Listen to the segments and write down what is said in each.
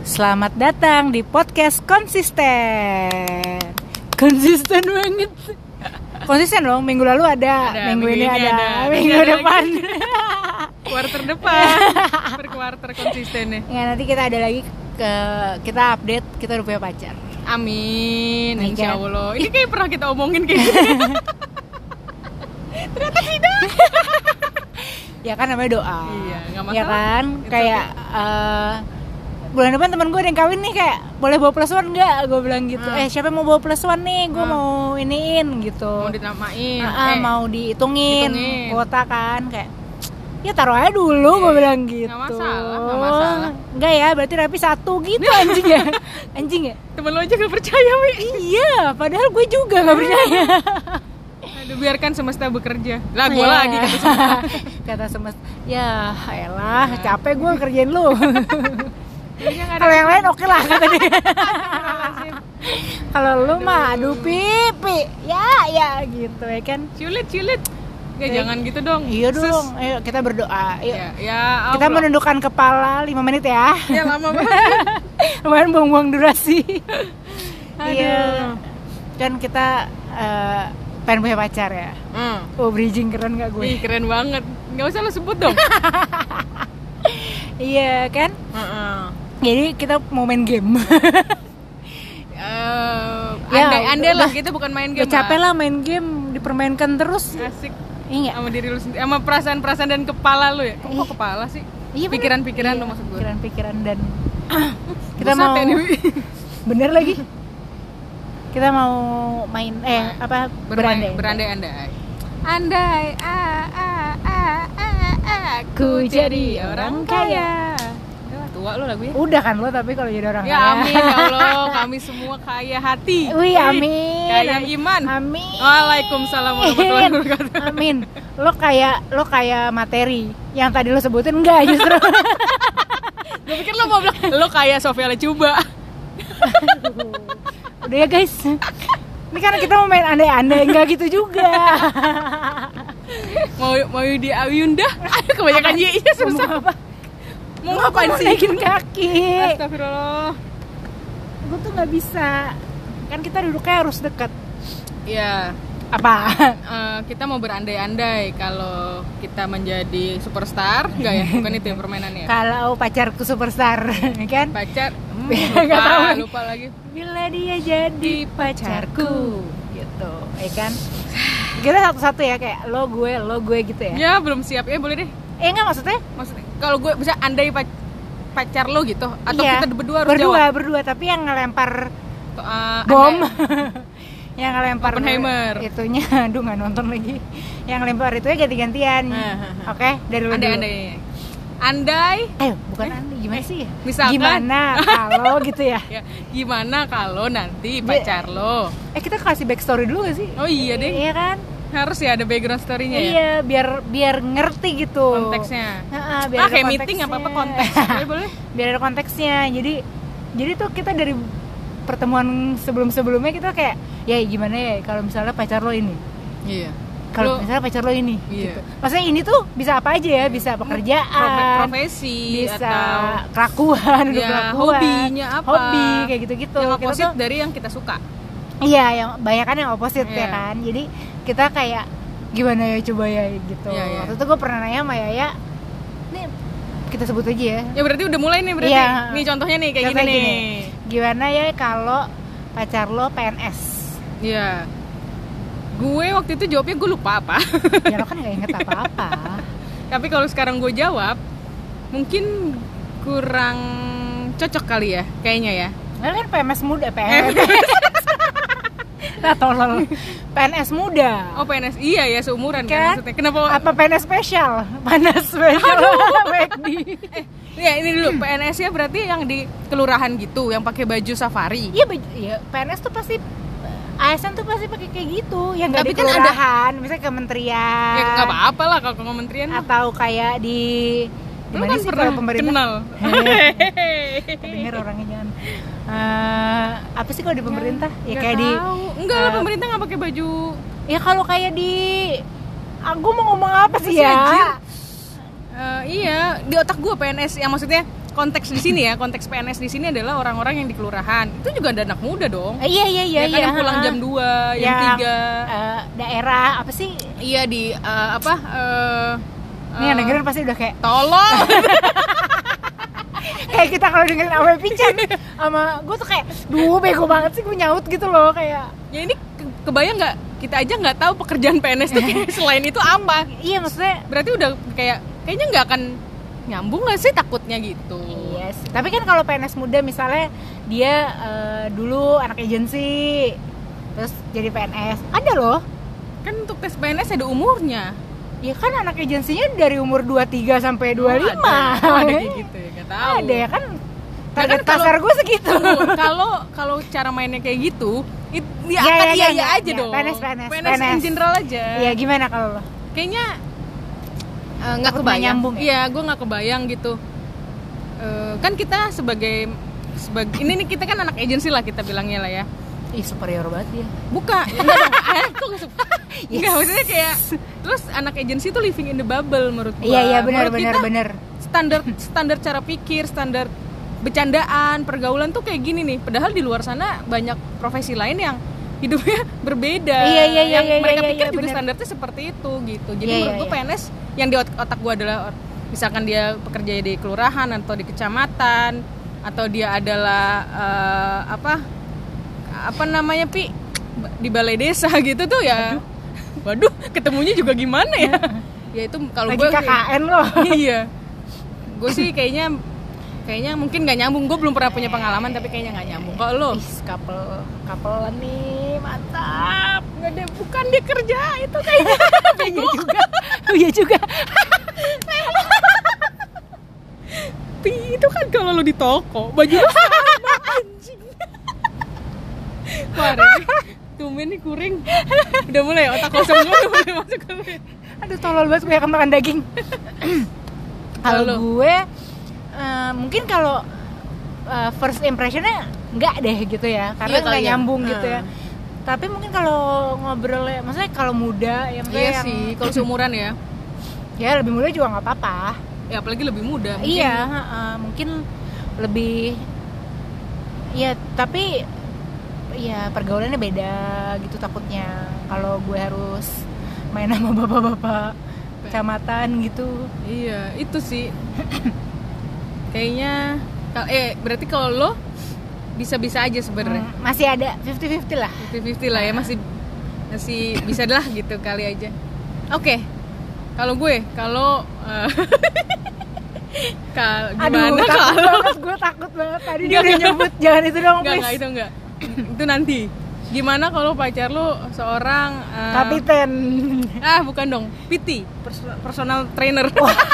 Selamat datang di podcast konsisten. Konsisten banget. Konsisten dong, minggu lalu ada minggu ini ada, minggu depan kuarter depan per kuarter konsistennya. Ya nanti kita ada lagi kita update kita udah punya pacar. Amin, Nih, insya kan? Allah. Ini kayak pernah kita omongin kayak gini. Ternyata tidak. Ya kan namanya doa. Iya, nggak masalah. Ya kan, It's kayak bulan depan temen gue ada yang kawin nih, kayak boleh bawa plus one nggak? Gue bilang gitu. Siapa yang mau bawa plus one nih? Gue mau iniin gitu. Mau dinamain. Mau dihitungin kuota kan, kayak ya taruh aja dulu, Iya, gue bilang gitu. Nggak masalah. Enggak ya, berarti rapi satu gitu anjing ya. Anjing ya. Temen lo aja gak percaya, Wi. Iya, padahal gue juga nggak percaya. Aduh, biarkan semesta bekerja. Lah gue Iya. lagi kata semesta. Kata semesta. Ya, elah, capek gue kerjain lu. Kayaknya nggak ada. Kalau yang lain oke lah kata dia. Kalau lu mah aduh pipi. Ya gitu ya kan. Ciulit. Ya jangan gitu dong. Iya Sus. dong. Ayo kita berdoa. Yuk. Ya Kita Allah. menundukkan kepala 5 menit ya. Ya lama banget. Lumayan buang-buang durasi. Aduh. Iya. Kan kita pengen punya pacar ya. Oh, bridging keren gak gue? Ih, keren banget. Nggak usah lo sebut dong. Iya kan? Jadi kita mau main game. Andai-andai lah, kita bukan main game. Udah capek lah main game, dipermainkan terus. Asik. Iya. Sama diri lu sendiri, sama perasaan-perasaan dan kepala lu ya. Kok kepala sih? Iya, Pikiran-pikiran bener. lo maksud gue. Pikiran-pikiran dan kita Buset mau ya, Dewi. bener lagi. Kita mau main berandai. Berandai-andai. Andai aku jadi orang kaya. Tua lo lagunya. Udah kan lo, tapi kalau jadi orang Ya kaya. amin ya Allah, kami semua kaya hati. Wih, amin. Kaya iman. Amin. Waalaikumsalam warahmatullahi wabarakatuh. Amin. Lo kayak materi yang tadi lo sebutin enggak justru. Gue pikir lo mau bilang lo kayak Sofia Lacuba. Udah ya guys. Ini kan kita mau main andai-andai, enggak gitu juga. mau di Ayunda. Aduh, kebanyakan iya susah. Mau ngapain sih? Naikin kaki. Astagfirullah. Gue tuh nggak bisa. Kan kita duduknya harus dekat. Iya. Apa? Kita mau berandai-andai kalau kita menjadi superstar, enggak ya? Bukan itu yang permainannya. Kalau pacarku superstar, kan? Pacar, Nggak tahu. lupa lagi. Bila dia jadi pacarku, gitu, ya kan? Kita satu-satu ya, kayak lo gue gitu ya. Ya belum siap ya, boleh deh. Enggak maksudnya? Maksudnya kalau gue bisa andai pacar lo gitu, atau iya, kita berdua harus jawab. Berdua, tapi yang ngelempar Bom. yang ngelempar Oppenheimer. itunya, aduh nggak nonton lagi. Yang ngelempar itunya ganti-gantian. Oke, dari lo dulu. Andai. Bukan andai, gimana sih? Misalkan. Gimana kalau gitu ya? Ya, gimana kalau nanti pacar lo? Kita kasih backstory dulu gak sih? Oh iya deh. Iya kan? Harus ya ada background story-nya ya. Iya, biar ngerti gitu Konteksnya. biar ada Kayak konteksnya. meeting apa konteks. Boleh. Biar ada konteksnya. Jadi tuh kita dari pertemuan sebelumnya kita kayak ya gimana ya kalau misalnya pacar lo ini. Iya. Kalau misalnya pacar lo ini Iya. gitu. Maksudnya ini tuh bisa apa aja ya? Bisa pekerjaan, profesi, bisa atau kelakuan, hobinya apa? Hobi kayak gitu-gitu. Yang Kita opposite tuh- dari yang kita suka. Iya, yang banyak kan yang opposite ya Iya. kan. Jadi kita kayak gimana ya coba ya gitu. Iya, iya. Waktu itu gue pernah nanya sama Yaya, nih kita sebut aja ya. Ya berarti udah mulai nih berarti. Iya. Nih contohnya nih kayak Contohnya gini nih. Gimana ya kalau pacar lo PNS? Iya. Gue waktu itu jawabnya gue lupa apa. Ya lo kan gak inget apa-apa. Tapi kalau sekarang gue jawab, mungkin kurang cocok kali ya, kayaknya ya. Lo kan PNS muda, PNS. Nah, tolol. PNS muda. Oh PNS, iya ya seumuran kan Kan? maksudnya. Kenapa? Apa PNS spesial? Panas spesial. McD. Ya ini dulu PNS-nya berarti yang di kelurahan gitu, yang pakai baju safari. Iya, PNS tuh pasti ASN tuh pasti pakai kayak gitu, yang nggak Tapi di kan ada- kelurahan, misalnya kementerian. Ya nggak apa-apa lah kalau kementerian. Atau kayak di Lu gimana kan sih pernah kalau pemerintah? kenal. Dengar orangnya jangan. Apa sih kalau di pemerintah? Ya Nggak kayak di tahu. Enggak lah pemerintah nggak pakai baju. ya kalau kayak di aku mau ngomong apa sih Apa sih, ya? anjir? Iya, di otak gue PNS yang maksudnya konteks di sini ya, konteks PNS di sini adalah orang-orang yang di kelurahan. Itu juga ada anak muda dong. Iya Ya kan yang pulang jam 2, jam 3. Daerah apa sih? Iya di Nih yang dengerin pasti udah kayak tolong. kayak kita kalau dengerin Awe Pican sama gue tuh kayak duh bego banget sih gue nyaut gitu loh kayak. Ya ini kebayang nggak? Kita aja nggak tahu pekerjaan PNS tuh selain itu apa. Iya maksudnya. Berarti udah kayaknya nggak akan nyambung nggak sih takutnya gitu. Iya sih. Tapi kan kalau PNS muda misalnya dia dulu anak agensi terus jadi PNS ada loh. Kan untuk tes PNS ada umurnya. Ya kan anak agensinya dari umur 23 sampai 25. Ada kayak gitu ya, nggak tahu. Ada ya kan. Target pasar gue segitu. Kalau cara mainnya kayak gitu, ya aja dong. PNS in general aja. Iya gimana kalau lo? Kayaknya nggak kebayang. Nyambung ya? Iya, gue nggak kebayang gitu. Kan kita sebagai ini nih kita kan anak agensi lah kita bilangnya lah ya. Ih superior banget ya. Bukan, enggak dong. Kok nggak Enggak, maksudnya kayak terus anak agensi tuh living in the bubble menurut gue. Iya benar. Standar cara pikir, standar bercandaan, pergaulan tuh kayak gini nih. Padahal di luar sana banyak profesi lain yang hidupnya berbeda. Iya, mereka pikir juga bener. standarnya seperti itu gitu. Jadi Iya, menurut gue PNS yang di otak gue adalah misalkan dia bekerja di kelurahan atau di kecamatan atau dia adalah apa namanya di balai desa gitu tuh ya. Waduh, ketemunya juga gimana ya? Ya itu kalau gue KKN loh. Iya. Gue sih kayaknya mungkin nggak nyambung. Gue belum pernah punya pengalaman tapi kayaknya nggak nyambung. Kalau lo? Couple nih mantap. Nggak ada, bukan dia kerja itu kayaknya. Iya juga. Itu kan kalau lo di toko baju lo sama anjing. Parah nih. Tumben nih kuring. Udah mulai otak kosong gue udah mulai masuk ke. Aduh tolol banget gue akan makan daging. Kalau gue mungkin kalau first impressionnya nggak deh gitu ya karena nggak nyambung gitu ya. Tapi mungkin kalau ngobrolnya, maksudnya kalau muda yang iya yang sih kalau seumuran ya. Ya lebih muda juga nggak apa-apa. Ya apalagi lebih muda. Mungkin, iya, mungkin lebih. Ya tapi ya pergaulannya beda gitu takutnya kalau gue harus main sama bapak-bapak kecamatan gitu. Iya itu sih. Kayaknya berarti kalau lo bisa-bisa aja sebenarnya. Masih ada 50-50 lah. 50-50 lah ya, masih bisa lah gitu kali aja. Oke. Kalau gue, gimana kalau gue takut banget tadi dia udah nyebut jangan itu dong please. Enggak, itu enggak. Itu nanti. Gimana kalau pacar lo seorang kapiten? Bukan dong. PT, personal trainer.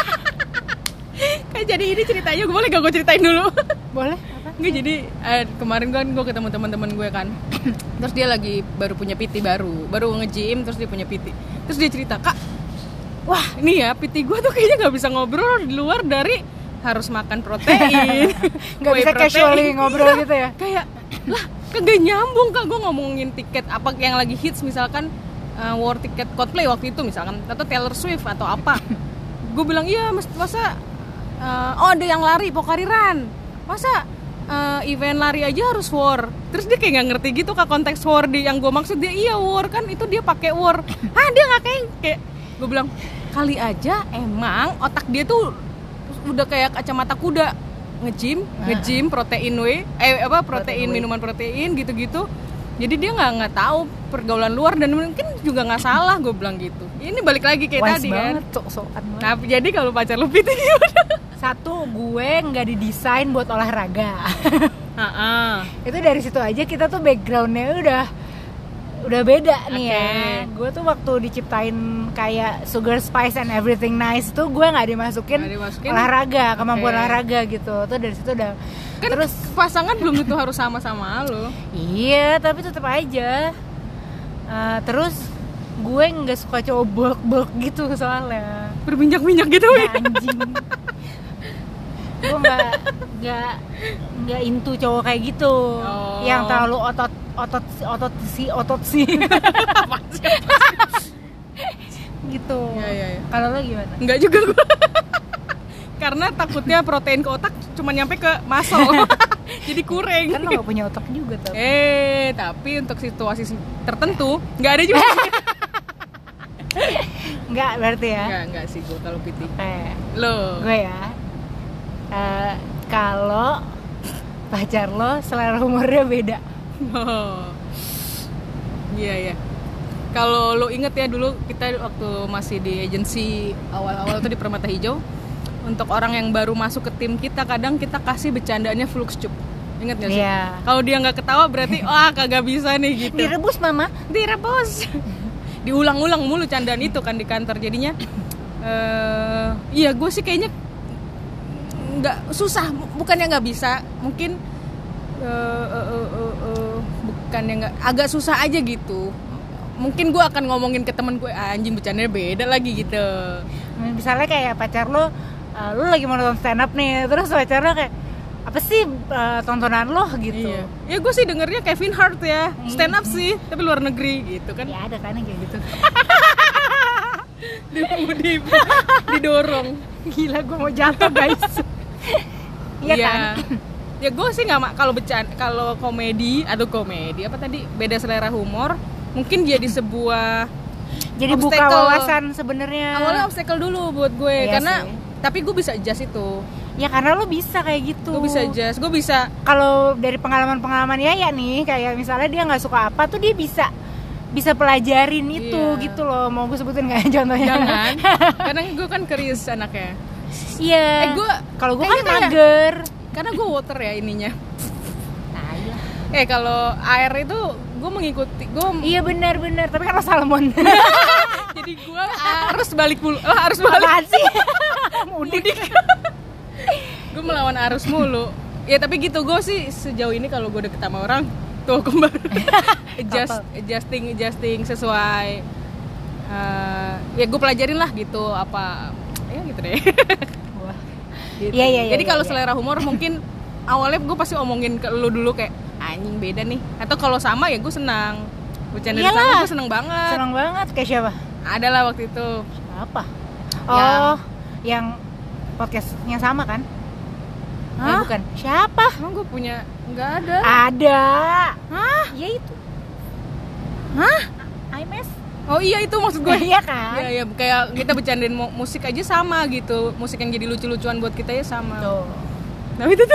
Kan jadi ini ceritanya, gue boleh gak gue ceritain dulu? Boleh. Apa? Nggak, jadi kemarin kan gue ketemu teman-teman gue kan. Terus dia lagi baru punya PT baru nge-gym, terus dia punya PT. Terus dia cerita, "Kak, wah ini ya PT gue tuh kayaknya nggak bisa ngobrol di luar dari harus makan protein." Nggak bisa casually ngobrol gitu ya? Kayak lah kagak nyambung Kak, gue ngomongin tiket apa yang lagi hits misalkan war tiket Coldplay waktu itu misalkan atau Taylor Swift atau apa. Gue bilang iya masa ada yang lari Pokariran, masa event lari aja harus war. Terus dia kayak nggak ngerti gitu Kak konteks war yang gue maksud. Dia iya war kan itu dia pakai war. Dia nggak kayak gue bilang kali aja emang otak dia tuh udah kayak kacamata kuda, nge-gym protein protein minuman protein gitu-gitu. Jadi dia nggak tahu pergaulan luar dan mungkin juga nggak salah, gue bilang gitu. Ini balik lagi kayak wise tadi banget, kan. sok-sokan banget. Nah jadi kalau pacar lu PT gimana? Satu, gue nggak didesain buat olahraga. Itu dari situ aja kita tuh backgroundnya udah beda nih ya. Gue tuh waktu diciptain kayak Sugar Spice and Everything Nice tuh gue nggak dimasukin olahraga, kemampuan olahraga gitu. Tuh dari situ udah. Kan terus pasangan belum tentu harus sama-sama lo. Iya, tapi tetap aja. Terus gue nggak suka cowok bulk gitu soalnya. Berminyak-minyak gitu ya. Anjing. Gue nggak into cowok kayak gitu. Yang terlalu otot sih. gitu. Ya. Kalau lo gimana? Enggak juga gue. karena takutnya protein ke otak cuma nyampe ke muscle. Jadi kurang. Kan lo gak punya otak juga tuh. Tapi untuk situasi tertentu nggak ada juga. Nggak berarti ya? Nggak sih gue kalau PT. Lo? Gue ya. Kalau pacar lo selera humornya beda. Iya. Kalau lo inget ya dulu kita waktu masih di agensi awal-awal tuh di Permata Hijau, untuk orang yang baru masuk ke tim kita kadang kita kasih bercandaannya Fluxcup. Ingat gak sih? Yeah. Kalau dia nggak ketawa berarti kagak bisa nih gitu. Direbus mama, direbus. Diulang-ulang mulu candaan itu kan di kantor jadinya. Iya gue sih kayaknya nggak susah, bukannya nggak bisa, mungkin bukannya nggak, agak susah aja gitu. Mungkin gue akan ngomongin ke temen gue, anjing bercandanya beda lagi gitu. Misalnya kayak pacar lo lagi mau nonton stand up nih, terus pacar lo kayak apa sih tontonan lo gitu. Iya. Ya gue sih dengernya Kevin Hart ya, stand up sih, tapi luar negeri gitu kan. Ya ada kan yang kayak gitu. Didorong. Gila gue mau jatuh guys. Iya kan. Ya gue sih nggak kalau komedi apa tadi beda selera humor. Mungkin jadi sebuah jadi obstacle. Buka wawasan sebenarnya. Awalnya obstacle dulu buat gue, iya karena sih. Tapi gue bisa adjust itu. Ya karena lo bisa kayak gitu. Gue bisa adjust, gue bisa. Kalau dari pengalaman Yaya nih, kayak misalnya dia nggak suka apa tuh dia bisa pelajarin itu gitu loh. Mau gue sebutin nggak contohnya? Jangan. Karena gue kan curious anaknya. Iya. Kalau gue kan mager. Karena gue water ya ininya. Kalau air itu gue mengikuti Iya benar tapi kan lo salmon. Jadi gue harus balik sih. Mudik. Gue melawan arus mulu. Ya tapi gitu, gue sih sejauh ini kalau gue deket sama orang tuh kembar adjusting sesuai ya gue pelajarin lah gitu apa ya gitu deh. Wah. Gitu. Iya. Jadi kalau selera humor mungkin awalnya gue pasti omongin ke lu dulu kayak anjing beda nih, atau kalau sama ya gue senang bercanda sama, gue seneng banget kayak siapa? Ada lah waktu itu. Apa? Yang podcastnya sama kan? Bukan. Siapa? Emang gue punya? Nggak ada. Ada. Hah? Ya itu. IMS. Oh iya itu maksud gue. Iya kan? Iya kayak kita bercandain musik aja sama gitu, musik yang jadi lucu-lucuan buat kita ya sama. Tuh. Nah itu tuh.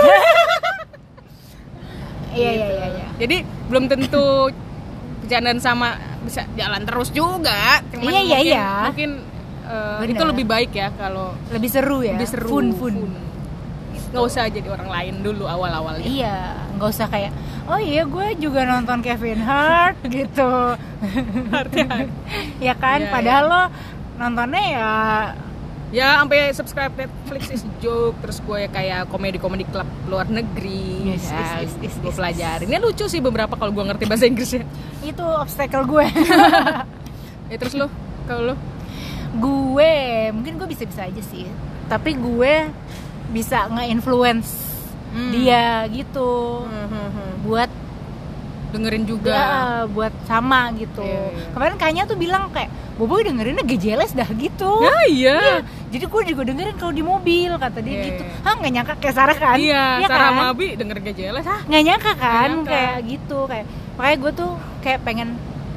Iya. Jadi belum tentu bercandaan sama bisa jalan terus juga. Cuman mungkin itu lebih baik ya kalau lebih seru ya. Lebih seru. Fun. Nggak usah jadi orang lain dulu awal-awalnya. Iya, nggak usah kayak gue juga nonton Kevin Hart gitu. Ya kan, padahal lo nontonnya ya sampai subscribe Netflix is joke, terus gue kayak komedi klub luar negeri. Gue pelajarin. Ini lucu sih beberapa kalau gue ngerti bahasa Inggrisnya. Itu obstacle gue. Terus lo, kalau lo? Gue mungkin gue bisa aja sih. Tapi gue bisa nge-influence dia gitu. Buat dengerin juga. Ya, buat sama gitu. Kemarin kayaknya tuh bilang kayak Boboy dengerinnya gak jelas dah gitu. Iya. Jadi gue juga dengerin kalau di mobil kata dia gitu. Nggak nyangka kayak Sarah kan? Iya. Sarah kan? Mabi dengerin gak jelas. Nggak nyangka kan? Kayak gitu kayak. Makanya gue tuh kayak pengen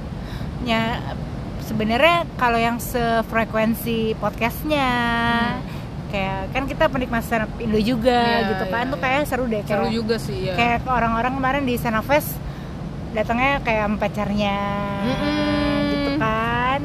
sebenarnya kalau yang sefrekuensi podcastnya. Kayak kan kita penikmat stand up Indo juga gitu kan. Tuh kayak seru deh. Seru juga sih ya. Kayak orang-orang kemarin di Stand Up Fest datangnya kayak sama pacarnya gitu kan.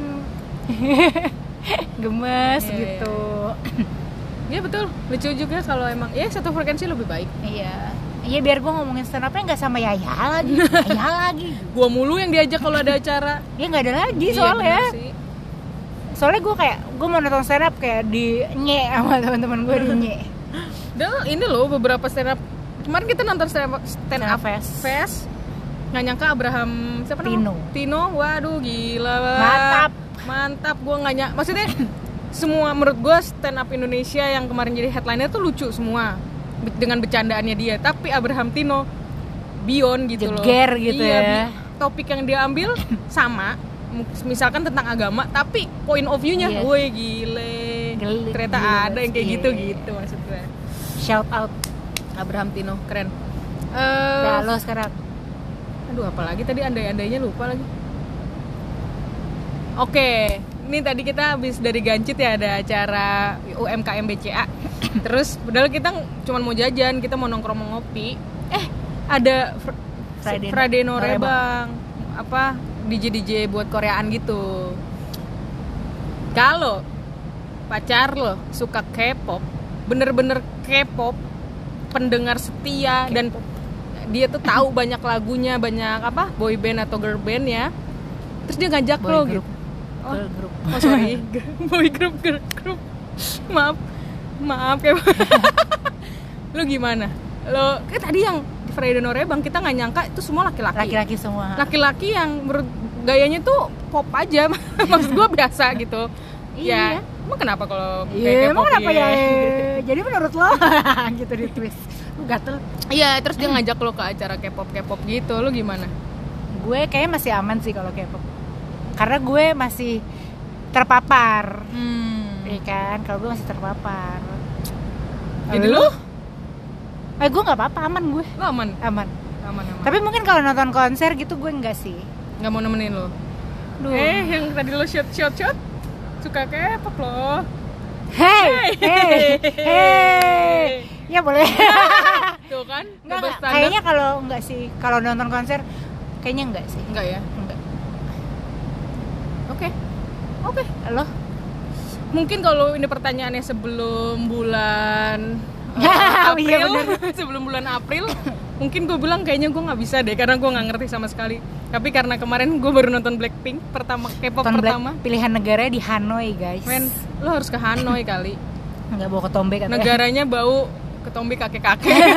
Gemes gitu. Iya betul, lucu juga kalau emang satu frekuensi lebih baik. Iya biar gue ngomongin stand up-nya nggak sama Yaya lagi. Gue mulu yang diajak kalau ada acara. Ya nggak ada lagi soalnya gue kayak gue mau nonton stand up kayak di nye sama teman-teman gue di nye. Dan ini loh beberapa stand up kemarin kita nonton stand up fest. Nggak nyangka Abraham siapa namanya? Tino, waduh gila mantap. Gue nggak nyangka, maksudnya semua menurut gue stand up Indonesia yang kemarin jadi headliner tuh lucu semua dengan bercandaannya dia, tapi Abraham Tino beyond gitu loh. Jeger gitu ya. Topik yang dia ambil sama, misalkan tentang agama, tapi point of view-nya, woi gile. ternyata ada yang kayak gitu maksud gue. Shout out Abraham Tino, keren. Nah, lo sekarang. Aduh, apalagi tadi andai-andainya lupa lagi. Oke, ini tadi kita habis dari Gancit ya, ada acara UMKM BCA. Terus padahal kita cuma mau jajan, kita mau nongkrong mau ngopi. Ada Friday Norebang. Apa DJ buat Koreaan gitu. Kalau pacar lo suka K-pop, bener-bener K-pop, pendengar setia K-pop. Dan dia tuh tahu banyak lagunya, banyak apa boy band atau girl band ya. Terus dia ngajak boy lo group. Gitu. Oh sorry, boy group, girl group. Maaf ya. Lo gimana? Lo kayak tadi yang di Friday Norebang kita nggak nyangka itu semua laki-laki semua. Laki-laki yang gayanya tuh pop aja. Maksud gue biasa gitu. Iya. Ya, emang kenapa kalau kayak K-pop ya? Jadi menurut lo gitu di twist. Lu gatel. Iya, terus dia ngajak lo ke acara K-pop gitu. Lo gimana? Gue kayaknya masih aman sih kalau K-pop. Karena gue masih terpapar. Iya kan? Kalau gue masih terpapar. Jadi lo? Gue nggak apa-apa, aman gue. Lo aman. Tapi mungkin kalau nonton konser gitu gue enggak sih. Nggak mau nemenin lo. Duh. Yang tadi lo shot suka K-pop lo. Hey. Ya boleh. Tuh kan? Enggak. Kayaknya kalau enggak sih. Kalau nonton konser kayaknya enggak sih. Enggak ya? Enggak. Oke. Lo? Mungkin kalau ini pertanyaannya sebelum bulan April, sebelum bulan April, mungkin gue bilang kayaknya gue nggak bisa deh karena gue nggak ngerti sama sekali. Tapi karena kemarin gue baru nonton Blackpink K-pop pertama. Pilihan negaranya di Hanoi guys. Men, lo harus ke Hanoi kali. Nggak bawa ketombe katanya. Negaranya bau ketombe kakek-kakek.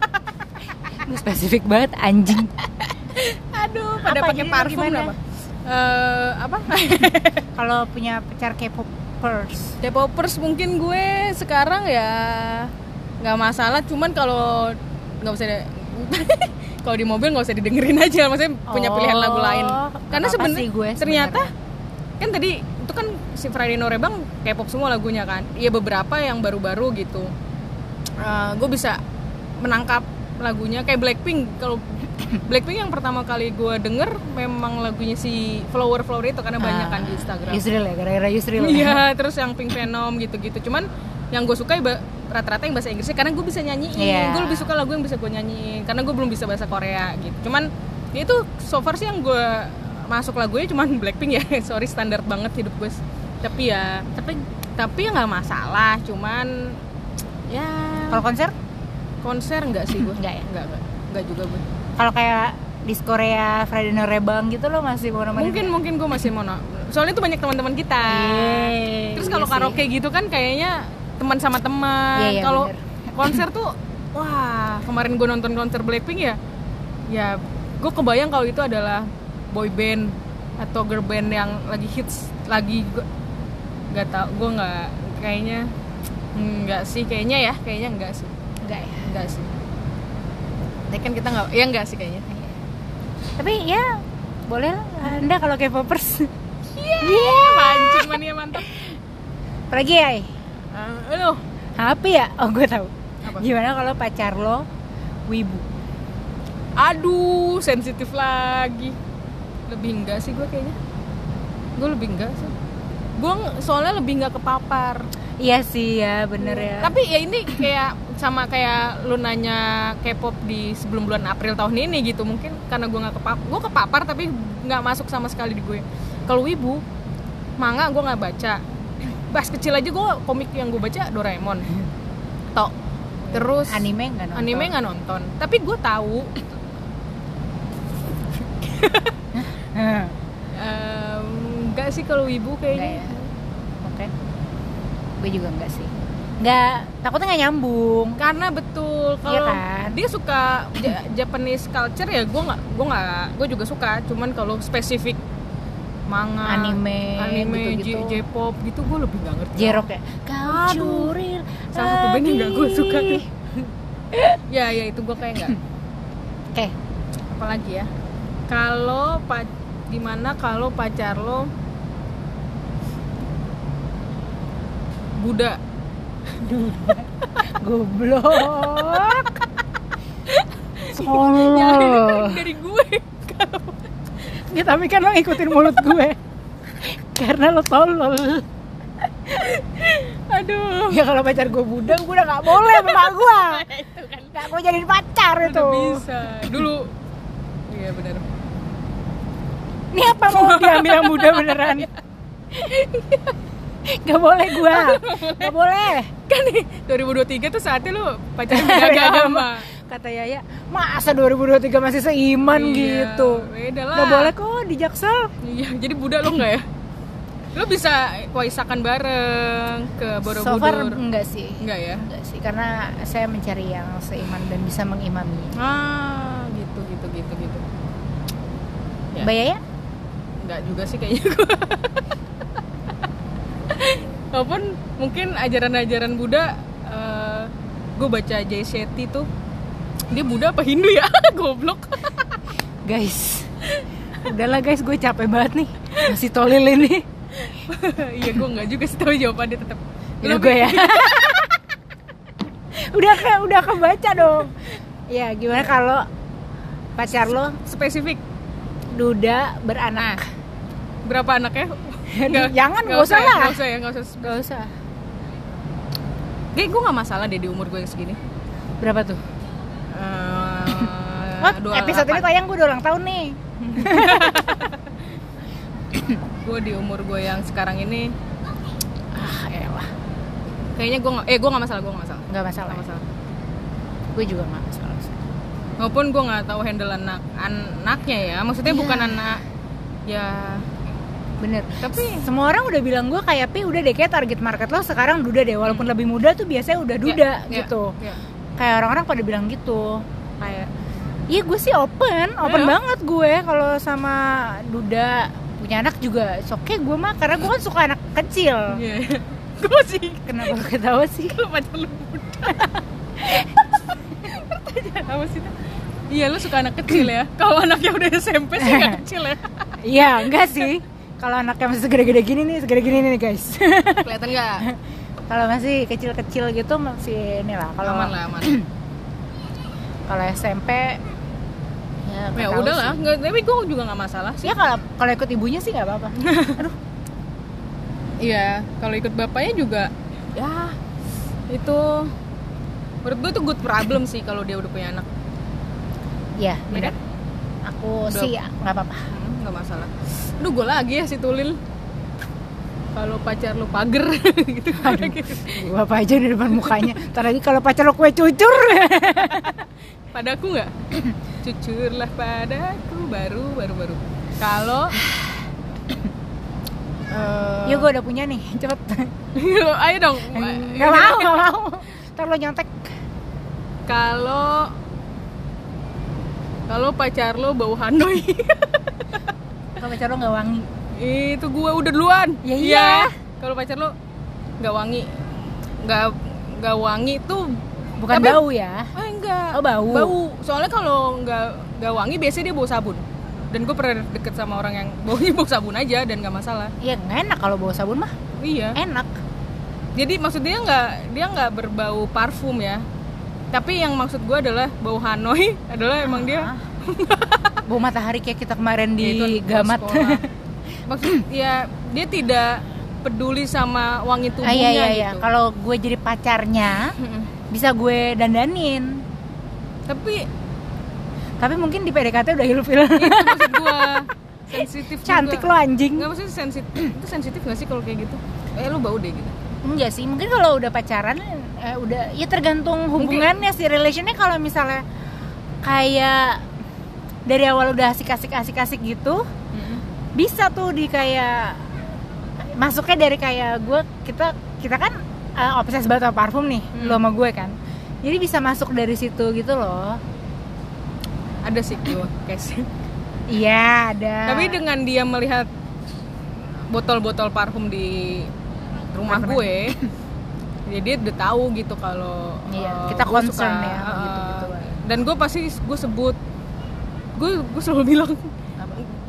Lu spesifik banget anjing. Aduh, pada pakai parfum apa? Apa? Kalau punya pacar K-popers mungkin gue sekarang ya nggak masalah, cuman kalau nggak usah kalau di mobil nggak usah didengerin aja, maksudnya punya pilihan lagu lain. Karena sebenarnya ternyata kan tadi itu kan si Friday Norebang K-pop semua lagunya kan, ya beberapa yang baru-baru gitu. Gue bisa menangkap lagunya kayak Blackpink. Kalau Blackpink yang pertama kali gue denger memang lagunya si Flower itu karena banyak kan di Instagram. Yusril ya, gara-gara Yusril. Iya, terus yang Pink Venom gitu-gitu. Cuman yang gue suka rata-rata yang bahasa Inggrisnya karena gue bisa nyanyiin. Gue lebih suka lagu yang bisa gue nyanyiin karena gue belum bisa bahasa Korea gitu. Cuman ya itu so far sih yang gue masuk lagunya cuman Blackpink ya. Sorry, standar banget hidup gue. Tapi ya nggak masalah. Cuman ya. Kalau konser enggak sih gue. Enggak ya? Enggak juga gue. Kalau kayak di Korea Friday Norebang gitu lo masih mau nemenin? Mungkin gue masih mau. Soalnya itu banyak teman-teman kita. Terus kalau karaoke gitu kan kayaknya teman sama teman. Kalau konser tuh wah, kemarin gue nonton konser Blackpink ya gue kebayang kalau itu adalah boy band atau girl band yang lagi hits lagi. Gue nggak tahu, gue nggak, kayaknya enggak sih, kayaknya enggak sih. Enggak sih. Tapi kan kita enggak sih kayaknya. Tapi ya boleh lah Anda kalau K-popers. Mancing mania mantap. Apalagi ya? Apa ya? Oh gue tahu. Apa? Gimana kalau pacar lo wibu? Aduh, sensitif lagi. Lebih enggak sih gue kayaknya. Gue lebih enggak sih. Gue soalnya lebih enggak kepapar. Iya sih ya, bener ya. Tapi ya ini kayak sama kayak lu nanya K-pop di sebelum bulan April tahun ini gitu. Mungkin karena gue nggak kepapar tapi nggak masuk sama sekali di gue. Kalau wibu, manga gue nggak baca. Pas kecil aja gue komik yang gue baca Doraemon. Terus anime nggak nonton. Tapi gue tahu. Enggak sih kalau wibu kayaknya. Oke. Gue juga enggak sih. Takutnya nggak nyambung. Karena betul kalau kan? dia suka Japanese culture ya gue juga suka. Cuman kalau spesifik manga, anime gitu. J-pop gitu gue lebih nggak ngerti. J-rock ya. Kau curil. Salah satu band yang nggak gue suka tuh. ya itu gue kayak nggak. Oke. Apalagi ya? Kalau gimana kalau pacar lo Buddha. Goblok. Nyari dari gue. Ya tapi kan lo ngikutin mulut gue. Karena lo tolol. Aduh. Ya kalau pacar gue Buddha, gue udah gak boleh sama gue. Gak gue jadiin pacar itu. Udah bisa. Dulu. Iya benar. Ini apa mau diambil yang Buddha beneran? Gak boleh gue. Gak boleh. Kan nih 2023 tuh saatnya lu pacaran beda agama. Kata Yaya, masa 2023 masih seiman gitu. Beda lah. Gak boleh kok di Jaksel. Iya, jadi Buddha lo enggak ya? Lo bisa waisakan bareng ke Borobudur? So far enggak sih. Enggak ya? Enggak sih, karena saya mencari yang seiman dan bisa mengimami. Gitu. Ya. Mbak Yaya? Enggak juga sih kayaknya. Walaupun mungkin ajaran-ajaran Buddha, gue baca Jay Shetty tuh, dia Buddha apa Hindu ya? Goblok. Guys, udahlah guys, gue capek banget nih masih tolil ini. Iya, gue nggak juga sih tahu jawabannya tetap. Udah gue ya. udah kebaca dong. Ya gimana kalau pacar lo spesifik duda beranak? Berapa anaknya? Jangan, nggak usah lah. Nggak usah. Gue nggak masalah deh di umur gue yang segini. Berapa tuh? Episode ini tayang gue udah ulang tahun nih. Gue di umur gue yang sekarang ini, elah. Kayaknya gue nggak masalah. Nggak masalah. Gue juga nggak masalah. Walaupun gue nggak tahu handle anaknya ya. Maksudnya bukan anak ya. Bener. Tapi semua orang udah bilang gue kayak udah deh, kayak target market lo sekarang duda deh. Walaupun lebih muda tuh biasanya udah duda gitu. Kayak orang-orang pada bilang gitu. Kayak iya, gue sih open banget gue kalau sama duda. Punya anak juga oke gue mah, karena gue kan suka anak kecil. Gue sih. Kenapa lo ketawa sih? Kalau pacar lu muda. Pertanyaan apa sih? Iya, lu suka anak kecil ya. Kalau anaknya udah SMP sih gak kecil ya. Iya, enggak sih. Kalau anaknya masih segede-gede gini nih guys. Kelihatan nggak? Kalau masih kecil-kecil gitu masih inilah. Kalau aman. Kalau SMP ya udahlah, tapi gue juga nggak masalah sih. Ya kalau ikut ibunya sih nggak apa-apa. Aduh. Iya, kalau ikut bapaknya juga, ya itu menurut gue itu good problem sih kalau dia udah punya anak. Iya, benar. Aku udah. Sih nggak apa-apa. Nggak masalah. Aduh, gue lagi ya si Tulil. Kalau pacar lu pager gitu. Aduh, gue apa aja di depan mukanya. Ntar lagi kalau pacar lu kue cucur. Padaku nggak? Cucurlah padaku baru. Kalau yuk, gue udah punya nih, cepet. Ayo dong. Gak mau. Ntar lo nyontek. Kalau pacar lo bau Hanoi. Kalau pacar lo nggak wangi. Itu gue udah duluan. Ya iya. Kalau pacar lo nggak wangi tuh bukan tapi, bau ya? Enggak. Oh, bau. Soalnya kalau nggak wangi biasanya dia bau sabun. Dan gue pernah deket sama orang yang baunya bau sabun aja dan nggak masalah. Iya, nggak enak kalau bau sabun mah. Iya. Enak. Jadi maksudnya dia nggak berbau parfum ya. Tapi yang maksud gue adalah bau Hanoi adalah emang dia bau matahari kayak kita kemarin di Gamat. Maksud ya dia tidak peduli sama wangi tubuhnya gitu. Kalau gue jadi pacarnya bisa gue dandanin. Tapi mungkin di PDKT udah ilfil. Itu maksud gue. Sensitif juga. Cantik lo anjing. Enggak, maksudnya sensitif. Itu sensitif enggak sih kalau kayak gitu? Lu bau deh gitu. Enggak sih, mungkin kalau udah pacaran udah ya tergantung hubungannya sih, relationnya. Kalau misalnya kayak dari awal udah asik gitu, bisa tuh di kayak masuknya dari kayak kita kan obses banget sama parfum nih, lo sama gue kan, jadi bisa masuk dari situ gitu loh. Ada sih gue case. Iya ada. Tapi dengan dia melihat botol-botol parfum di rumah gue, ya dia udah tahu gitu kalau kita concern ya gitu. Dan gue pasti gue sebut, gue selalu bilang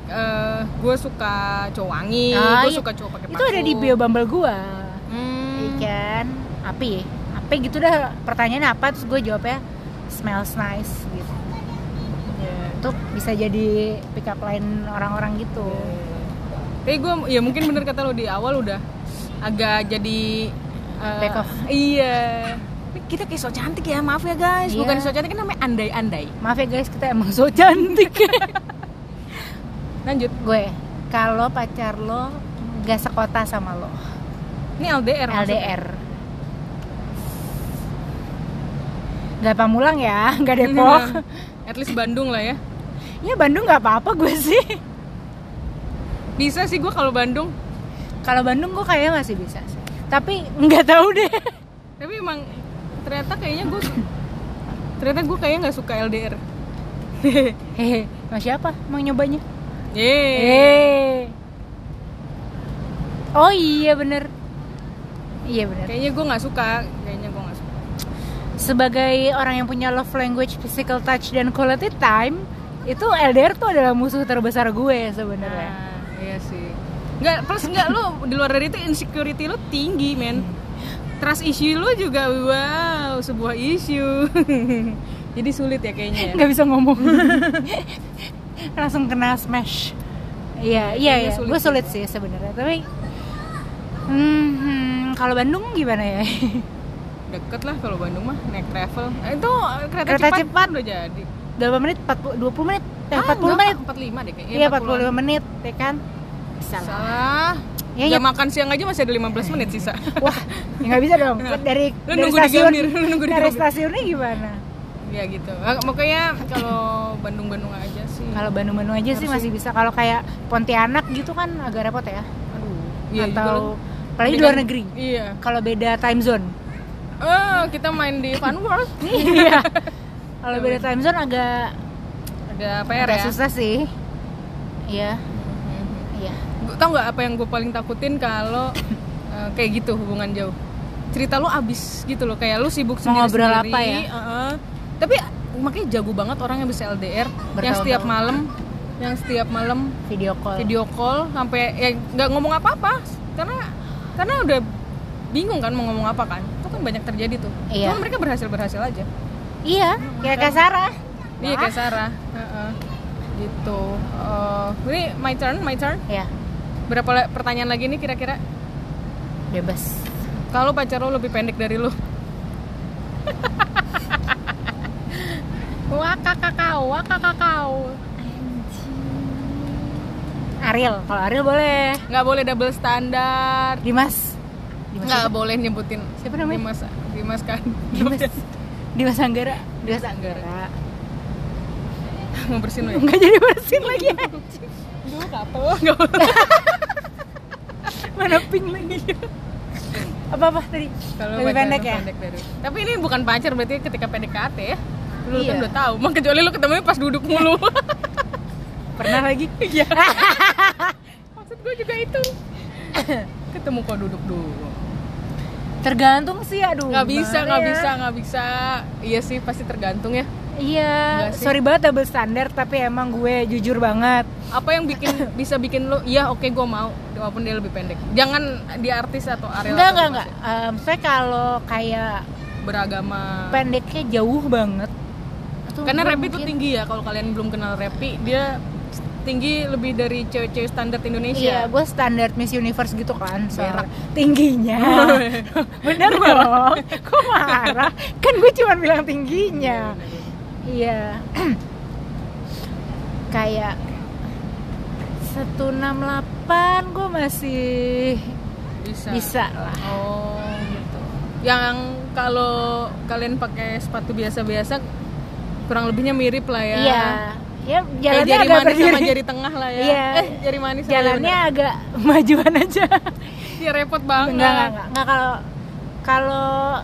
gue suka cowok wangi, gue suka cowok pakai parfum. Itu ada di bio Bumble gue. kan, api gitu dah, pertanyaannya apa, terus gue jawabnya smells nice gitu. Itu bisa jadi pick up line orang-orang gitu. Tapi gue ya mungkin bener kata lo, di awal udah agak jadi back off. Iya. Kita kayak so cantik ya, maaf ya guys. Iya. Bukan so cantik, kan namanya andai-andai. Maaf ya guys, kita emang so cantik. Lanjut. Gue, kalau pacar lo gak sekota sama lo. Ini LDR. Gak Pamulang ya, gak Depok. At least Bandung lah ya. Ya Bandung gak apa-apa gue sih. Bisa sih gue kalau Bandung. Kalau Bandung gue kayaknya masih bisa sih. Tapi nggak tahu deh. Tapi emang ternyata gue kayaknya nggak suka LDR. Hehe, sama siapa mau nyobanya? Oh iya bener. Kayaknya gue nggak suka. Sebagai orang yang punya love language, physical touch dan quality time, itu LDR tuh adalah musuh terbesar gue sebenarnya. Iya sih. Nggak lo di luar dari itu insecurity lo tinggi, men. Trust issue lo juga sebuah issue. Jadi sulit ya kayaknya ya. Nggak bisa ngomong. Langsung kena smash. Iya. Gue sulit sih sebenarnya. Tapi kalau Bandung gimana ya? Deket lah kalau Bandung mah, naik travel. Itu kereta cepat udah jadi. Berapa menit? 20 menit? 40 menit? 45 deh kayaknya. Iya 45 menit ya kan? Salah. Ya makan siang aja masih ada 15 menit sisa. Wah, ya nggak bisa dong. Dari stasiun. Dari stasiunnya gimana? Ya gitu. Makanya kalau Bandung aja sih. Kalau Bandung aja sih masih bisa. Kalau kayak Pontianak gitu kan agak repot ya. Iya, atau apalagi luar negeri. Iya. Kalau beda time zone. Kita main di Fun World. Iya. Kalau beda time zone agak PR ya. Susah sih. Iya. Tau nggak apa yang gue paling takutin kalau kayak gitu hubungan jauh, cerita lu abis gitu loh, kayak lu sibuk sendiri. Mau ngobrol apa ya? Tapi makanya jago banget orang yang bisa LDR, yang setiap malam video call sampai ya nggak ngomong apa-apa karena udah bingung kan mau ngomong apa kan. Itu kan banyak terjadi tuh. Iya. Cuma mereka berhasil aja. Iya, kayak Sarah. Iya kayak Sarah. Gitu. Ini my turn. Iya. Berapa pertanyaan lagi nih kira-kira? Bebas. Kalau pacar lo lebih pendek dari lo? Wakakakau. Ariel, kalau Ariel boleh. Nggak boleh double standar. Dimas Nggak boleh nyebutin. Siapa namanya? Dimas kan. Dimas Anggara. Mau bersihin lo ya? Nggak jadi bersin lagi. Duh, kapel. Nggak boleh. Mana pink lagi. Apa tadi? Kalau lebih pendek ya? Tapi ini bukan pacar, berarti ketika PDKT ya. Lu iya. Kan udah tahu. Kecuali lu ketemunya pas duduk mulu. Pernah lagi? Iya. Maksud gue juga itu. Ketemu kok duduk dulu. Tergantung sih, aduh. Nggak bisa. Iya sih, pasti tergantung ya. Iya, sorry banget double standar, tapi emang gue jujur banget. Apa yang bisa bikin lo, iya oke, gue mau, walaupun dia lebih pendek. Jangan di artis atau Ariel. Enggak. Saya kalau kayak beragama, pendeknya jauh banget. Karena Repi itu tinggi ya, kalau kalian belum kenal Repi, dia tinggi lebih dari cewek-cewek standar Indonesia. Iya, gue standar Miss Universe gitu kan, tingginya. Bener dong. Kok marah? Kan gue cuma bilang tingginya. Iya. Kayak 168 gue masih bisa lah. Oh gitu. Yang kalau kalian pakai sepatu biasa-biasa kurang lebihnya mirip lah ya. Iya. Ya jalannya jari agak manis berdiri sama jari tengah lah ya. Iya. Jari manis. Jalannya agak majuan aja. Iya repot banget. Enggak kalau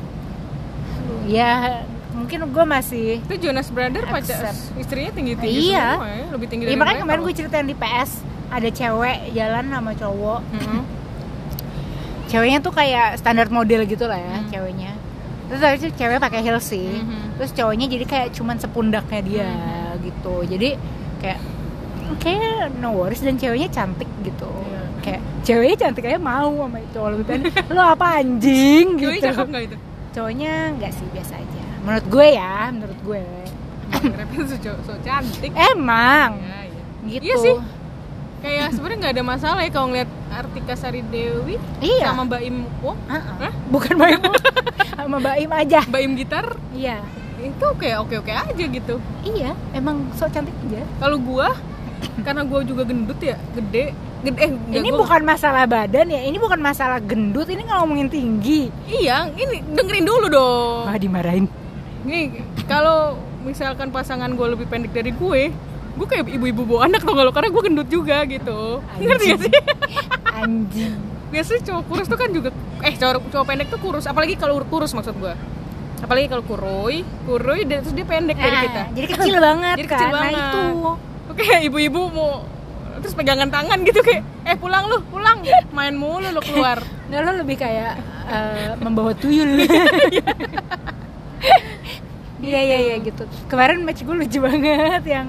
ya mungkin gue masih. Itu Jonas Brother pacar istrinya tinggi iya. semua ya, lebih tinggi dari makanya kemarin gue ceritain di PS ada cewek jalan sama cowok. Ceweknya tuh kayak standar model gitu lah ya, ceweknya. Terus habis itu cewek pakai heels sih. Terus cowoknya jadi kayak cuman sepundaknya dia gitu. Jadi kayak no worries, dan ceweknya cantik gitu. kayak ceweknya cantik aja mau sama cowok lebih pendek. Lo apa anjing gitu. Cowoknya cakep nggak itu? Cowoknya nggak sih, biasa aja menurut gue ya, menurut gue. Repnya so cantik Emang ya, iya. gitu. Iya sih, kayak sebenarnya nggak ada masalah ya kalau ngeliat Artika Sari Dewi Iya. sama Mbak Im Wong. Bukan Mbak Im sama Mbak Im aja. Mbak Im Gitar Iya. itu kayak oke aja gitu. Iya, emang sok cantik aja. Kalau gua karena gua juga gendut ya, gede ini bukan masalah badan ya, ini bukan masalah gendut, ini ngomongin tinggi. Iya, ini dengerin dulu dong. Wah, dimarahin. Nih, kalau misalkan pasangan gue lebih pendek dari gue kayak ibu-ibu bawa anak tau gak lo, karena gue gendut juga gitu. Ngerti gak sih? Anjing. Biasanya cowok kurus tuh kan juga cowok pendek tuh kurus, apalagi kalau kurus maksud gue. Apalagi kalau kurui terus dia pendek dari kita. Jadi kecil banget. Jadi kecil kan? banget. Nah itu. Oke, ibu-ibu mau terus pegangan tangan gitu kayak pulang main mulu lo keluar. Nggak, lo lebih kayak membawa tuyul. Iya gitu. Kemarin match gue lucu banget yang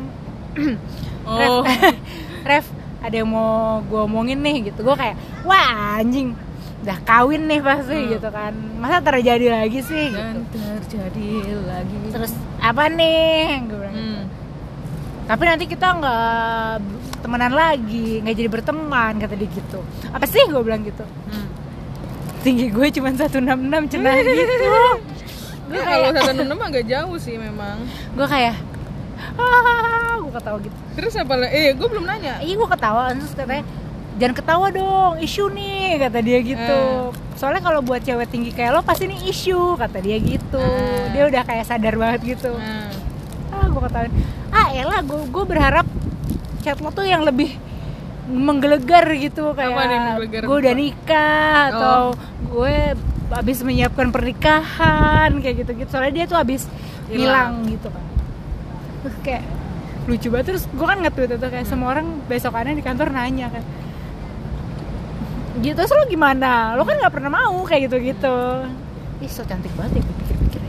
Ref, ada yang mau gue omongin nih gitu. Gue kayak, wah anjing, udah kawin nih pasti gitu kan. Masa terjadi lagi sih Dan gitu. terjadi lagi. Terus apa nih? Gue bilang gitu. Tapi nanti kita nggak temenan lagi, nggak jadi berteman, kata dia gitu. Apa sih, gue bilang gitu. Tinggi gue cuma 166 cenah gitu. Gue kalau 166 agak jauh sih memang. Gue kayak gue ketawa gitu. Terus apa gue belum nanya. Iya, gue ketawa, terus katanya jangan ketawa dong, isu nih, kata dia gitu. Soalnya kalau buat cewek tinggi kayak lo pasti nih isu, kata dia gitu. Dia udah kayak sadar banget gitu. Gue ketawain, elah, gue berharap chat lo tuh yang lebih menggelegar gitu, kayak gue udah nikah atau gue abis menyiapkan pernikahan kayak gitu-gitu. Soalnya dia tuh abis hilang gitu kan. Terus kayak lucu banget. Terus gue kan nge-tweet itu kayak semua orang besokannya di kantor nanya kan gitu, terus lo gimana? Lo kan gak pernah mau kayak gitu-gitu. Ih, so cantik banget ya gue pikir-pikirnya.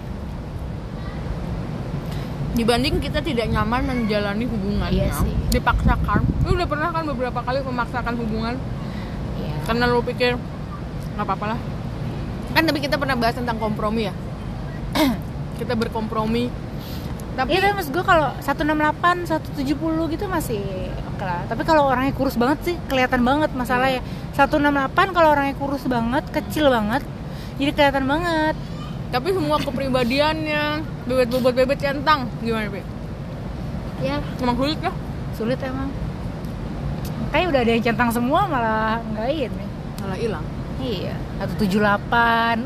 Dibanding kita tidak nyaman menjalani hubungan, iya sih. Dipaksakan. Lu udah pernah kan beberapa kali memaksakan hubungan? Iya. Karena lu pikir nggak apa-apa lah. Kan tapi kita pernah bahas tentang kompromi ya. Kita berkompromi. Tapi iya, maksud gue kalau 168, 170 gitu masih oke lah. Tapi kalau orangnya kurus banget sih kelihatan banget masalahnya. 168 kalau orangnya kurus banget, kecil banget, jadi kelihatan banget. Tapi semua kepribadiannya, bebet centang, gimana, Pi? Ya, emang sulit lah. Sulit emang. Kayak udah ada yang centang semua malah nggak ini. Malah hilang. Iya, 178.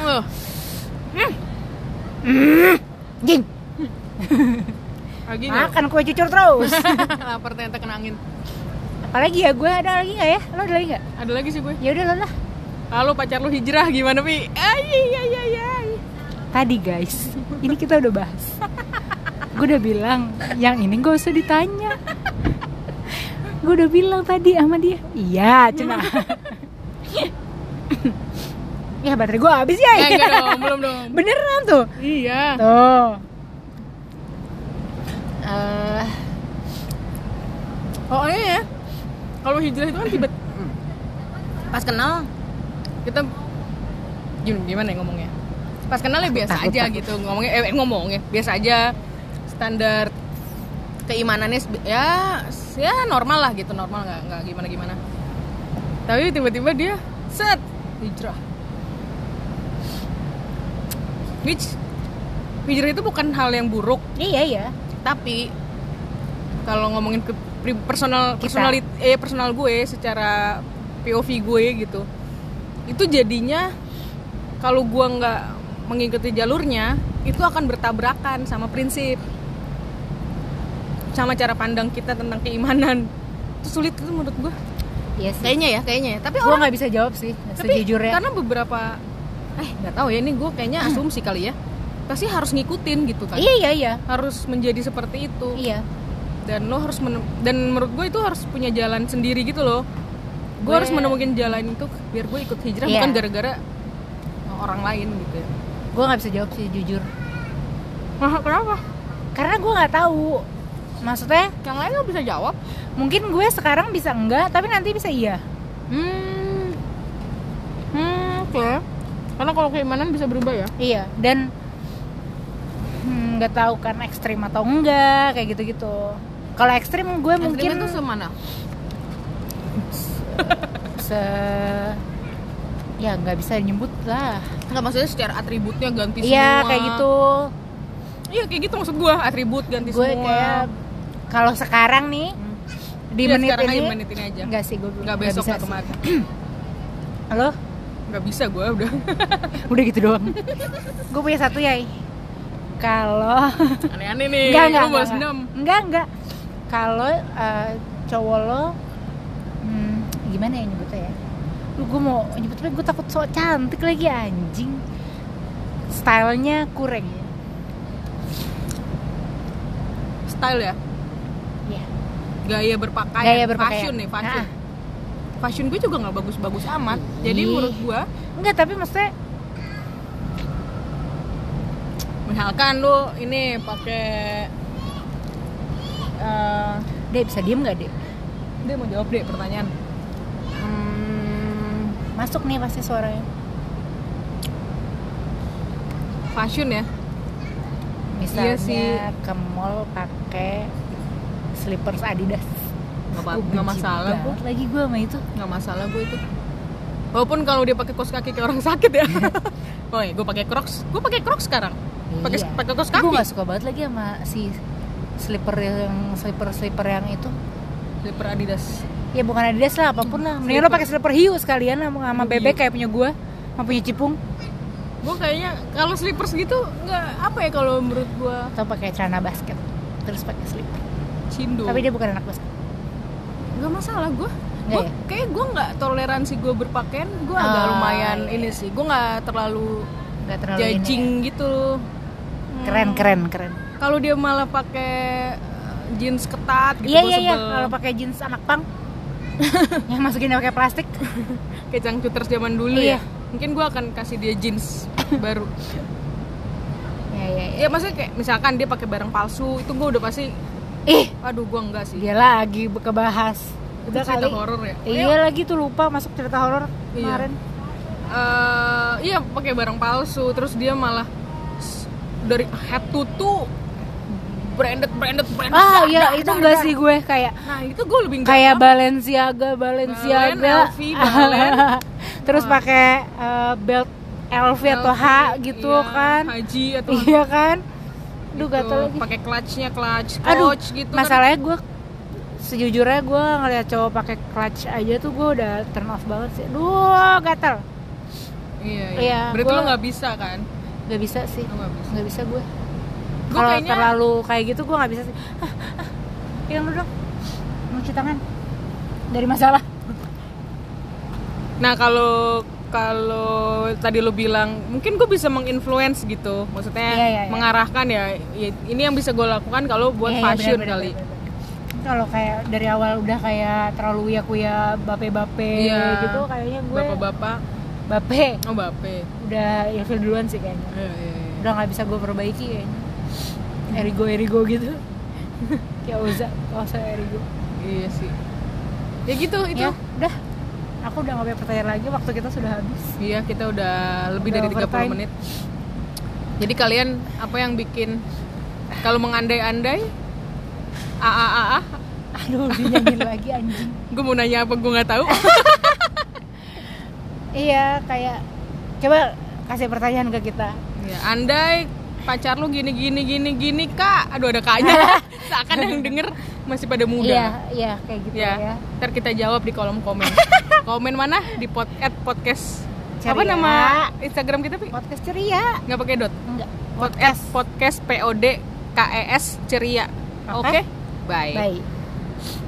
Jing. Lagi makan kue cucur terus. Lapar ternyata kena angin. Apalagi ya, gue ada lagi nggak ya? Lo ada lagi nggak? Ada lagi sih gue. Ya udah lo lah. Halo, pacar lu hijrah gimana, Pi? Tadi guys, ini kita udah bahas. Gue udah bilang, yang ini gak usah ditanya. Gue udah bilang tadi sama dia. Iya, cina. Ya baterai gue habis ya. Enggak dong, belum dong. Beneran tuh. Iya. Tuh. Oh iya ya. Kalau hijrah itu kan tiba pas kenal kita gimana ya ngomongnya? Pas kenal ya biasa aja gitu ngomongnya biasa aja, standar keimanannya ya normal lah gitu, normal, nggak gimana. Tapi tiba-tiba dia set hijrah. Hijrah itu bukan hal yang buruk. Iya. Tapi kalau ngomongin ke personal gue secara POV gue gitu, itu jadinya kalau gue nggak mengikuti jalurnya itu akan bertabrakan sama prinsip, sama cara pandang kita tentang keimanan. Itu sulit itu menurut gue. Iya sih. Kayaknya ya. Tapi gue nggak bisa jawab sih sejujurnya. Karena beberapa nggak tahu ya, ini gue kayaknya asumsi kali ya, pasti harus ngikutin gitu kan. Iya. Harus menjadi seperti itu. Iya. Dan lo harus dan menurut gue itu harus punya jalan sendiri gitu loh. Gue harus menemukan jalan itu biar gue ikut hijrah, bukan gara-gara orang lain gitu ya. Gue nggak bisa jawab sih jujur. Kenapa? Karena gue nggak tahu. Maksudnya yang lain lo bisa jawab. Mungkin gue sekarang bisa enggak, tapi nanti bisa iya. Oke. Karena kalau keimanan bisa berubah ya. Iya, dan nggak tahu kan ekstrim atau enggak kayak gitu-gitu. Kalau ekstrim gue mungkin itu semana? Ya nggak bisa nyebut lah. Nggak, maksudnya secara atributnya ganti semua. Iya kayak gitu. Iya kayak gitu maksud gue, atribut ganti Gue semua. kayak kalau sekarang nih di Ya, menit sekarang ini menit ini aja. Enggak sih, gue Nggak besok bisa atau sih. kemarin. Halo? Nggak bisa gue udah. Udah gitu doang. Gue punya satu ya. Kalau Aneh-aneh nih. enggak, Lu balas dendam. enggak. Kalau cowok lo gimana ya nyebutnya ya? Gue mau nyebutnya, gue takut sok cantik lagi anjing. Stylenya kurang ya. Style ya? Iya. Gaya berpakaian. Gaya berpakaian. Fashion nih, fashion. Nah. Fashion gue juga nggak bagus-bagus amat. Jadi Ih. menurut gue, Enggak, tapi maksudnya misalkan lu ini pakai Dek bisa diem gak Dek? dia mau jawab deh pertanyaan. Masuk nih pasti suaranya. Fashion ya? Misalnya Iya sih. ke mall pakai slippers Adidas. Nggak masalah gue. Lagi gue sama itu. Nggak masalah gue itu. Walaupun kalau dia pakai kaos kaki kayak orang sakit ya. Oh gue pakai Crocs. Gue pakai Crocs sekarang. Pakai Iya. pakai kaos Gue kaki. gak suka banget lagi sama si slipper yang itu. Slipper Adidas. Ya bukan Adidas lah, apapun lah. Mendingan lo pakai slipper hiu sekalian sama bebek kayak punya gue, sama punya Cipung. Gue kayaknya kalau slippers gitu nggak apa ya kalau menurut gue. Atau pakai celana basket, terus pakai slipper. Cindo. Tapi dia bukan anak basket. Nggak masalah gue. Nggak ya? Kayak gue nggak toleransi gue berpakaian. Gue agak lumayan iya. ini sih. Gue nggak terlalu Gak terlalu judging ini ya. gitu. Keren. Kalau dia malah pakai jeans ketat gitu, Iya gue iya. sebel. Kalau pakai jeans anak pang, yang masukin pakai plastik. Kayak cangcuters zaman dulu Iya. ya. Mungkin gue akan kasih dia jeans baru. Iya. Ya maksudnya kayak misalkan dia pakai barang palsu, itu gue udah pasti, aduh gue enggak sih. Dia lagi kebahas. Udah cerita kali. horor ya. Iya lagi tuh lupa masuk cerita horor kemarin. Iya pakai barang palsu, terus dia malah dari head to toe branded. Ah iya itu enggak sih gue kayak. Nah itu gue lebih enggak. Kayak Balenciaga. Balen, LV, Balen. Terus pakai belt LV atau H gitu iya, kan. Haji atau Iya kan. Duh gitu. gatel lagi. Pakai clutch-nya clutch Aduh, coach gitu. masalahnya gue sejujurnya gue ngeliat cowok pakai clutch aja tuh gue udah turn off banget sih. Duh gatel. Iya. Iya, Berarti gua- lo nggak bisa kan? Gak bisa sih. Lo nggak bisa. Nggak bisa gue. Gue Kalau kayaknya terlalu kayak gitu gue nggak bisa sih. Pegang dulu dong. Mau cuci tangan. Dari masalah. Nah kalau tadi lo bilang mungkin gue bisa menginfluence gitu, maksudnya Iya. mengarahkan ya ini yang bisa gue lakukan kalau buat Iya, fashion bener. kali. Kalau kayak dari awal udah kayak terlalu uya-kuya bape-bape Iya. gitu kayaknya gue Bapak-bapak, bape oh bape. udah ilfil duluan sih kayaknya. Iya. Udah nggak bisa gue perbaiki kayaknya. Erigo gitu. Kayak Oza Erigo. Iya sih. Ya gitu itu. Ya, udah. Aku udah nggak punya pertanyaan lagi, waktu kita sudah habis. Iya, kita udah lebih Udah dari 30 overtime. menit. Jadi kalian apa yang bikin kalau mengandai-andai Aduh, dinyanyiin lagi anjing. gue mau nanya apa gue nggak tahu. Iya, kayak coba kasih pertanyaan ke kita. Ya, andai pacar lu gini kak, aduh ada kaknya. Seakan yang denger masih pada muda. Iya, kayak gitu Ya, ya. ntar kita jawab di kolom komen. Komen mana? Di podcast. Ceria. Apa nama Instagram kita, Pi? Podcast ceria. Nggak pakai dot. Enggak. Podcast PODKES ceria. Oke. Oke. Bye. Bye.